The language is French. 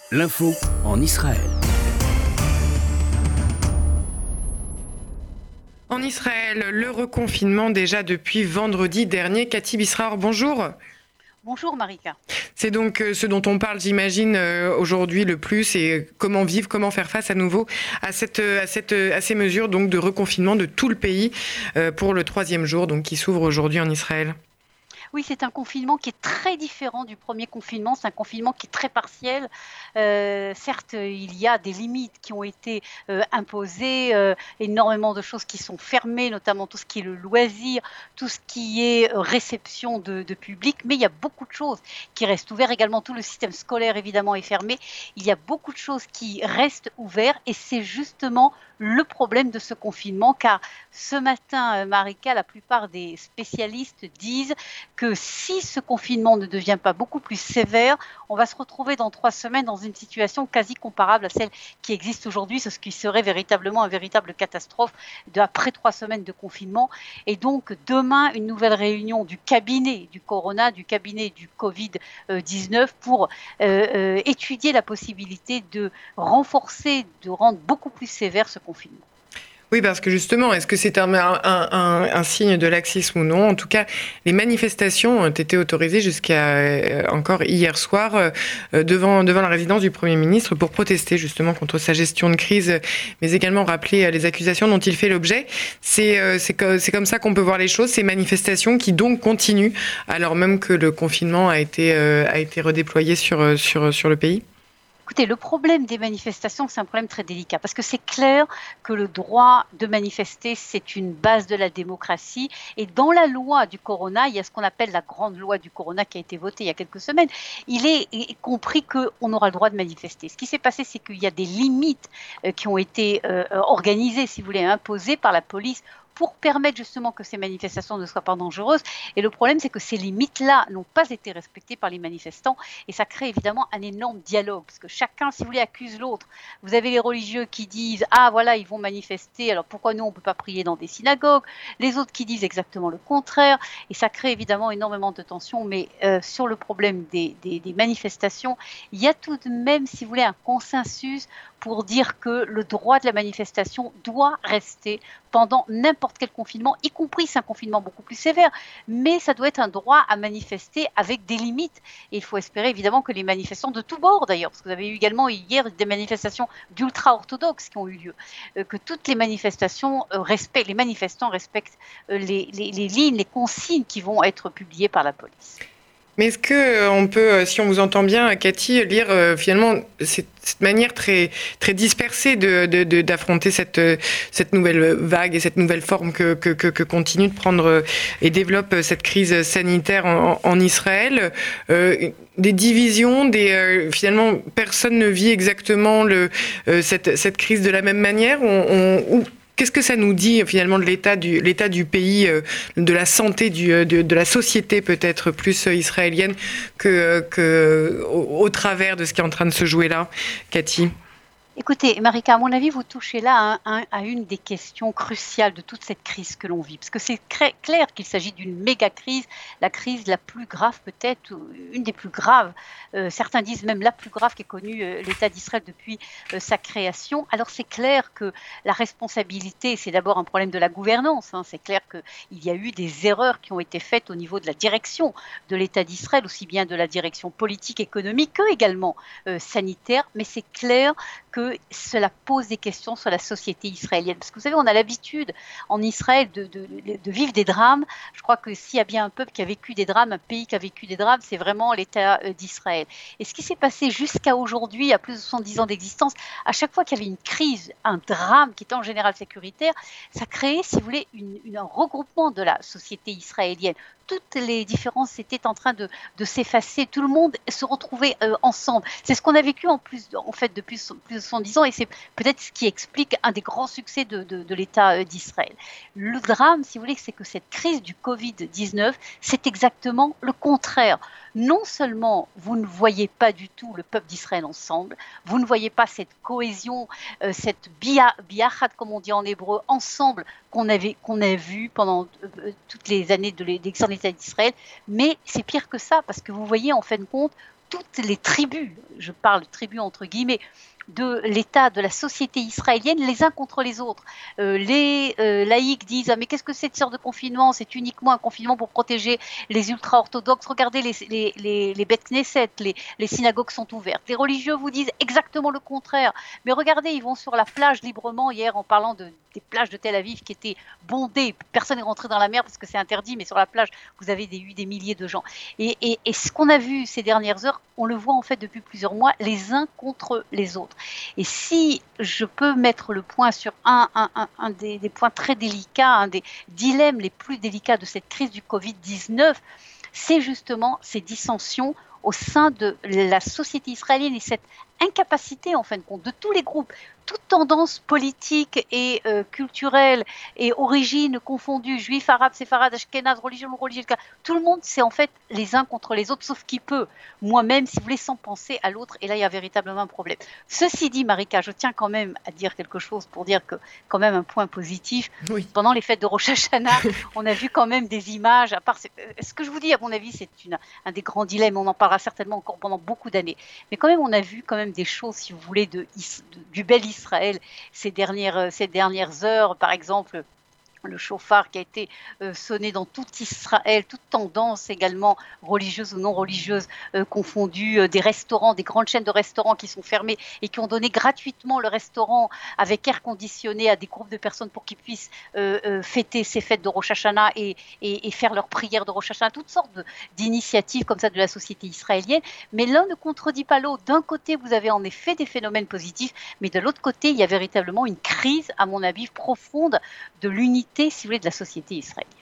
L'info en Israël. En Israël, le reconfinement déjà depuis vendredi dernier. Cathy Bisraor, bonjour. Bonjour Marika. C'est donc ce dont on parle, j'imagine, aujourd'hui le plus, et comment vivre, comment faire face à nouveau à ces mesures donc de reconfinement de tout le pays pour le 3e jour donc, qui s'ouvre aujourd'hui en Israël. Oui, c'est un confinement qui est très différent du premier confinement. C'est un confinement qui est très partiel. Certes, il y a des limites qui ont été imposées, énormément de choses qui sont fermées, notamment tout ce qui est le loisir, tout ce qui est réception de public. Mais il y a beaucoup de choses qui restent ouvertes. Également, tout le système scolaire, évidemment, est fermé. Il y a beaucoup de choses qui restent ouvertes et c'est justement le problème de ce confinement, car ce matin, Marika, la plupart des spécialistes disent que si ce confinement ne devient pas beaucoup plus sévère, on va se retrouver dans 3 semaines dans une situation quasi comparable à celle qui existe aujourd'hui, ce qui serait véritablement une véritable catastrophe après 3 semaines de confinement. Et donc demain, une nouvelle réunion du cabinet du Corona, du cabinet du Covid-19 pour étudier la possibilité de renforcer, de rendre beaucoup plus sévère ce confinement. Oui, parce que justement, est-ce que c'est un signe de laxisme ou non ? En tout cas, les manifestations ont été autorisées jusqu'à encore hier soir devant la résidence du Premier ministre pour protester justement contre sa gestion de crise, mais également rappeler les accusations dont il fait l'objet. C'est comme ça qu'on peut voir les choses, ces manifestations qui donc continuent alors même que le confinement a été redéployé sur le pays. Écoutez, le problème des manifestations, c'est un problème très délicat parce que c'est clair que le droit de manifester, c'est une base de la démocratie. Et dans la loi du Corona, il y a ce qu'on appelle la grande loi du Corona qui a été votée il y a quelques semaines. Il est compris qu'on aura le droit de manifester. Ce qui s'est passé, c'est qu'il y a des limites qui ont été organisées, si vous voulez, imposées par la police pour permettre justement que ces manifestations ne soient pas dangereuses. Et le problème, c'est que ces limites-là n'ont pas été respectées par les manifestants et ça crée évidemment un énorme dialogue parce que chacun, si vous voulez, accuse l'autre. Vous avez les religieux qui disent « Ah voilà, ils vont manifester, alors pourquoi nous, on ne peut pas prier dans des synagogues ?» Les autres qui disent exactement le contraire et ça crée évidemment énormément de tensions. Mais sur le problème des manifestations, il y a tout de même, si vous voulez, un consensus pour dire que le droit de la manifestation doit rester pendant n'importe quel confinement, y compris c'est un confinement beaucoup plus sévère, mais ça doit être un droit à manifester avec des limites. Et il faut espérer évidemment que les manifestants de tous bords d'ailleurs, parce que vous avez eu également hier des manifestations d'ultra-orthodoxes qui ont eu lieu, que toutes les manifestations respectent, les manifestants respectent les lignes, les consignes qui vont être publiées par la police. Mais est-ce qu'on peut, si on vous entend bien, Cathy, lire finalement cette manière très, très dispersée d'affronter cette nouvelle vague et cette nouvelle forme que continue de prendre et développe cette crise sanitaire en Israël, des divisions, finalement personne ne vit exactement cette crise de la même manière. Qu'est-ce que ça nous dit finalement de l'état du pays, de la santé de la société peut-être plus israélienne au travers de ce qui est en train de se jouer là, Cathy ? Écoutez, Marika, à mon avis, vous touchez là à une des questions cruciales de toute cette crise que l'on vit. Parce que c'est clair qu'il s'agit d'une méga crise, la crise la plus grave peut-être, une des plus graves. Certains disent même la plus grave qu'ait connue l'État d'Israël depuis sa création. Alors c'est clair que la responsabilité, c'est d'abord un problème de la gouvernance. C'est clair qu'il y a eu des erreurs qui ont été faites au niveau de la direction de l'État d'Israël, aussi bien de la direction politique, économique que également sanitaire. Mais c'est clair que cela pose des questions sur la société israélienne. Parce que vous savez, on a l'habitude en Israël de vivre des drames. Je crois que s'il y a bien un peuple qui a vécu des drames, un pays qui a vécu des drames, c'est vraiment l'État d'Israël. Et ce qui s'est passé jusqu'à aujourd'hui, à plus de 70 ans d'existence, à chaque fois qu'il y avait une crise, un drame qui était en général sécuritaire, ça créait, si vous voulez, un regroupement de la société israélienne. Toutes les différences étaient en train de s'effacer, tout le monde se retrouvait ensemble. C'est ce qu'on a vécu depuis plus de 110 ans et c'est peut-être ce qui explique un des grands succès de l'État d'Israël. Le drame, si vous voulez, c'est que cette crise du Covid-19, c'est exactement le contraire. Non seulement vous ne voyez pas du tout le peuple d'Israël ensemble, vous ne voyez pas cette cohésion, cette biachad, comme on dit en hébreu, ensemble qu'on a vu pendant toutes les années de l'existence de l'État d'Israël, mais c'est pire que ça, parce que vous voyez en fin de compte toutes les tribus, je parle de tribus entre guillemets, de l'État, de la société israélienne, les uns contre les autres. Les laïcs disent « Ah, mais qu'est-ce que c'est de sorte de confinement? C'est uniquement un confinement pour protéger les ultra-orthodoxes. Regardez, les bêtes Knesset, les synagogues sont ouvertes. » Les religieux vous disent exactement le contraire. Mais regardez, ils vont sur la plage librement hier en parlant des plages de Tel Aviv qui étaient bondées. Personne n'est rentré dans la mer parce que c'est interdit, mais sur la plage, vous avez eu des milliers de gens. Et ce qu'on a vu ces dernières heures, on le voit en fait depuis plusieurs mois, les uns contre les autres. Et si je peux mettre le point sur un des points très délicats, un des dilemmes les plus délicats de cette crise du Covid-19, c'est justement ces dissensions au sein de la société israélienne et cette incapacité, en fin de compte, de tous les groupes, toute tendance politique et culturelle et origine confondue, juifs, arabes, séfarades, ashkénazes, religion, tout le monde, c'est en fait les uns contre les autres, sauf qui peut. Moi-même, si vous voulez, sans penser à l'autre, et là, il y a véritablement un problème. Ceci dit, Marika, je tiens quand même à dire quelque chose pour dire que, quand même, un point positif. Oui. Pendant les fêtes de Rosh Hashanah, on a vu quand même des images, à part ce que je vous dis, à mon avis, c'est un des grands dilemmes, on en parlera certainement encore pendant beaucoup d'années. Mais quand même, on a vu quand même des choses, si vous voulez, du bel Israël ces dernières heures, par exemple le chauffard qui a été sonné dans tout Israël, toute tendance également religieuse ou non religieuse confondue, des restaurants, des grandes chaînes de restaurants qui sont fermés et qui ont donné gratuitement le restaurant avec air conditionné à des groupes de personnes pour qu'ils puissent fêter ces fêtes de Rosh Hashanah et faire leurs prières de Rosh Hashanah, toutes sortes d'initiatives comme ça de la société israélienne. Mais l'un ne contredit pas l'autre. D'un côté, vous avez en effet des phénomènes positifs, mais de l'autre côté, il y a véritablement une crise, à mon avis, profonde de l'unité, si vous voulez, de la société israélienne.